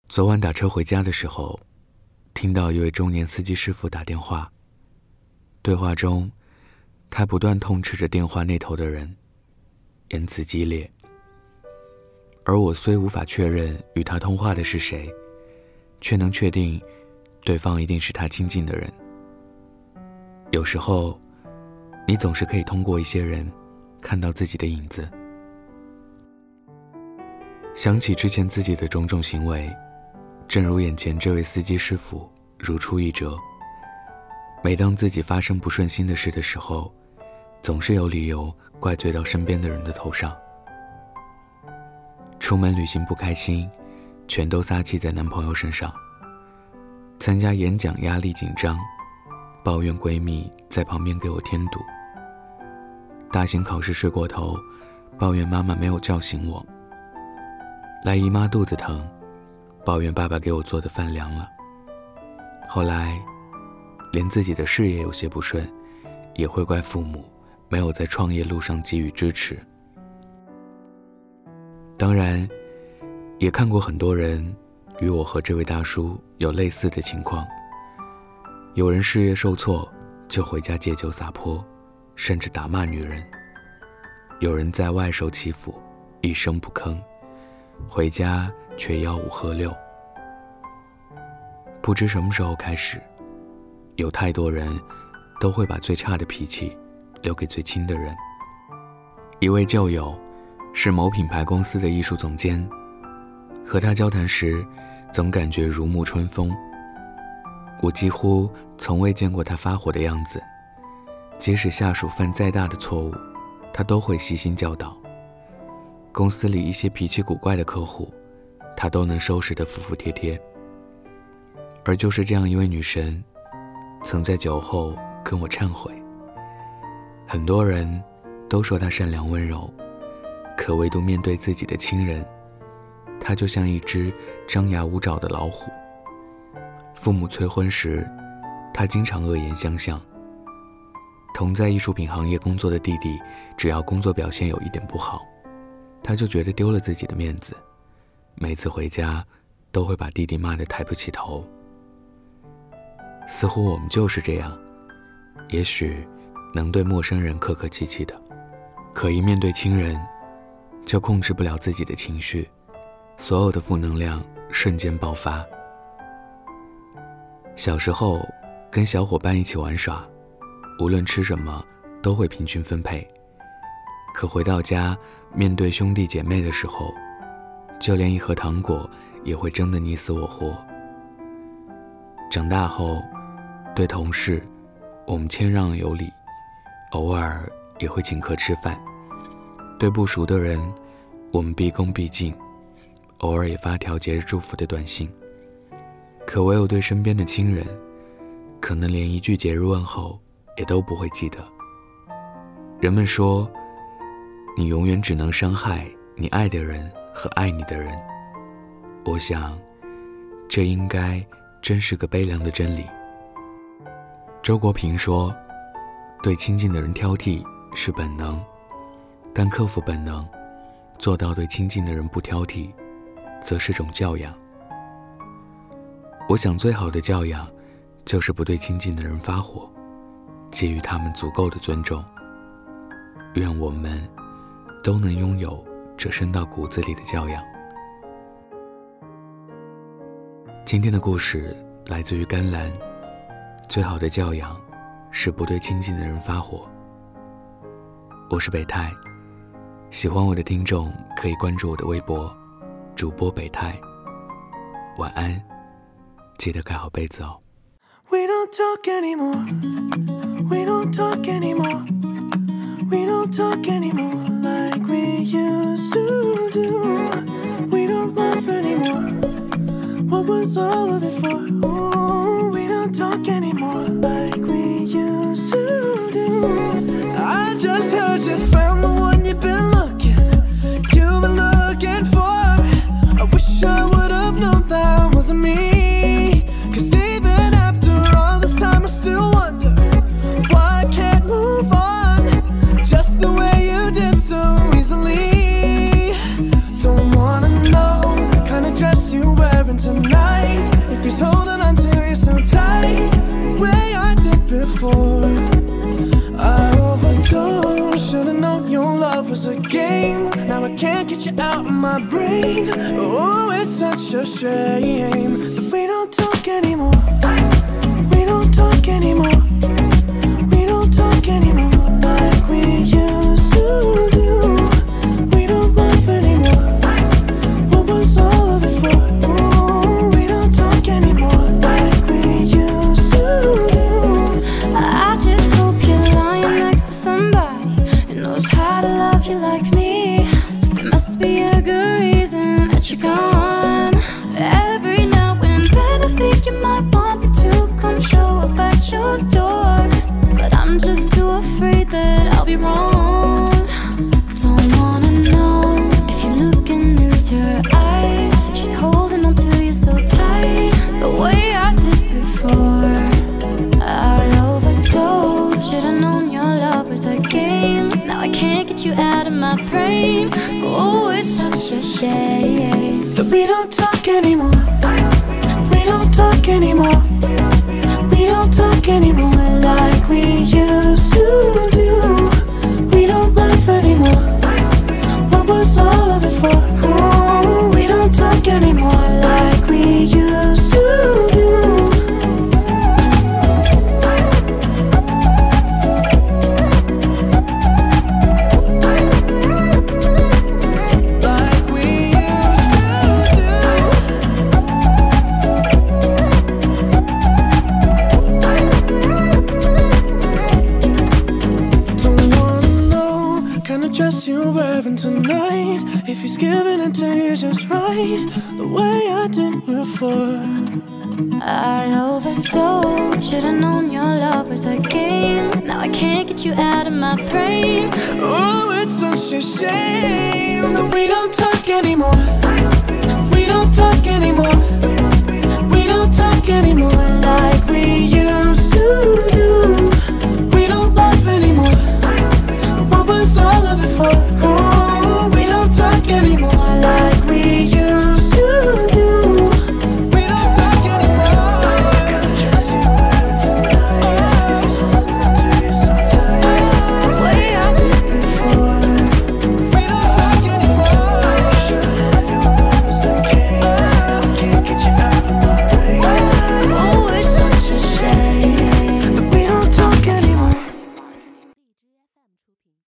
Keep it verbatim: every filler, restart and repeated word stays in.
昨晚打车回家的时候，听到一位中年司机师傅打电话，对话中他不断痛斥着电话那头的人，言辞激烈。而我虽无法确认与他通话的是谁，却能确定对方一定是他亲近的人。有时候你总是可以通过一些人看到自己的影子。想起之前自己的种种行为，正如眼前这位司机师傅如出一辙。每当自己发生不顺心的事的时候，总是有理由怪罪到身边的人的头上。出门旅行不开心，全都撒气在男朋友身上。参加演讲压力紧张，抱怨闺蜜在旁边给我添堵。大型考试睡过头，抱怨妈妈没有叫醒我。来姨妈肚子疼，抱怨爸爸给我做的饭凉了。后来连自己的事业有些不顺，也会怪父母没有在创业路上给予支持。当然也看过很多人与我和这位大叔有类似的情况，有人事业受挫就回家借酒洒泼，甚至打骂女人；有人在外受欺负一声不吭，回家却吆五喝六。不知什么时候开始，有太多人都会把最差的脾气留给最亲的人。一位旧友是某品牌公司的艺术总监，和他交谈时总感觉如沐春风。我几乎从未见过他发火的样子，即使下属犯再大的错误，他都会细心教导。公司里一些脾气古怪的客户，他都能收拾得服服帖帖。而就是这样一位女神，曾在酒后跟我忏悔。很多人都说她善良温柔，可唯独面对自己的亲人，她就像一只张牙舞爪的老虎。父母催婚时，她经常恶言相向。同在艺术品行业工作的弟弟，只要工作表现有一点不好，她就觉得丢了自己的面子，每次回家都会把弟弟骂得抬不起头。似乎我们就是这样，也许能对陌生人客客气气的，可一面对亲人，就控制不了自己的情绪，所有的负能量瞬间爆发。小时候跟小伙伴一起玩耍，无论吃什么都会平均分配，可回到家面对兄弟姐妹的时候，就连一盒糖果也会争得你死我活。长大后对同事我们谦让有礼，偶尔也会请客吃饭。对不熟的人我们毕恭毕敬，偶尔也发条节日祝福的短信。可唯有对身边的亲人，可能连一句节日问候也都不会记得。人们说，你永远只能伤害你爱的人和爱你的人。我想这应该真是个悲凉的真理。周国平说，对亲近的人挑剔是本能，但克服本能，做到对亲近的人不挑剔，则是种教养。我想最好的教养，就是不对亲近的人发火，给予他们足够的尊重。愿我们都能拥有这深到骨子里的教养。今天的故事来自于甘蓝，最好的教养是不对亲近的人发火。我是北太，喜欢我的听众可以关注我的微博主播北太。晚安，记得盖好被子哦。 We don't talk anymore. We don't talk anymore. We don't talk anymore like we used to do. We don't laugh anymore. What was all of it for? Ooh, we don't talk anymore like we used to do. I just heard you found the one you've been looking, you've been looking for. I wish I would have known that wasn't me. Cause even after all this time I still wonder why I can't move on just the way you did so easily. Don't wanna know the kind of dress you're wearing tonight. tonight. If he's holding on to you so tight, the way I did before. I overdosed, should've known your love was a game. Now I can't get you out of my brain. Oh, it's such a shame that we don't talk anymore. We don't talk anymore. We don't talk anymore like we used to do. We don't laugh anymore. What was all of it for? Ooh, we don't talk anymore like we used to do. I just hope you're lying next to somebody who knows how to love you like me. There must be a good reason that you're gone. Every now and then I think you might want me to come show up at your door, but I'm just too afraid that I'll be wrong. Don't wanna know if you're looking into her eyes, if she's holding on to you so tight, the way I did before. I overdosed, should've known your love was a game. Now I can't get you out of my brain. Oh, it's such a shame that we don't talk anymore. We don't talk anymore. We don't talk anymore like we used to do. We don't laugh anymore. What was all of it for? Oh, we don't talk anymore like we used to do. You're wearing tonight, if he's giving it to you just right, the way I did before. I overdosed, should've known your love was a game. Now I can't get you out of my brain. Oh, it's such a shame that we don't talk anymore.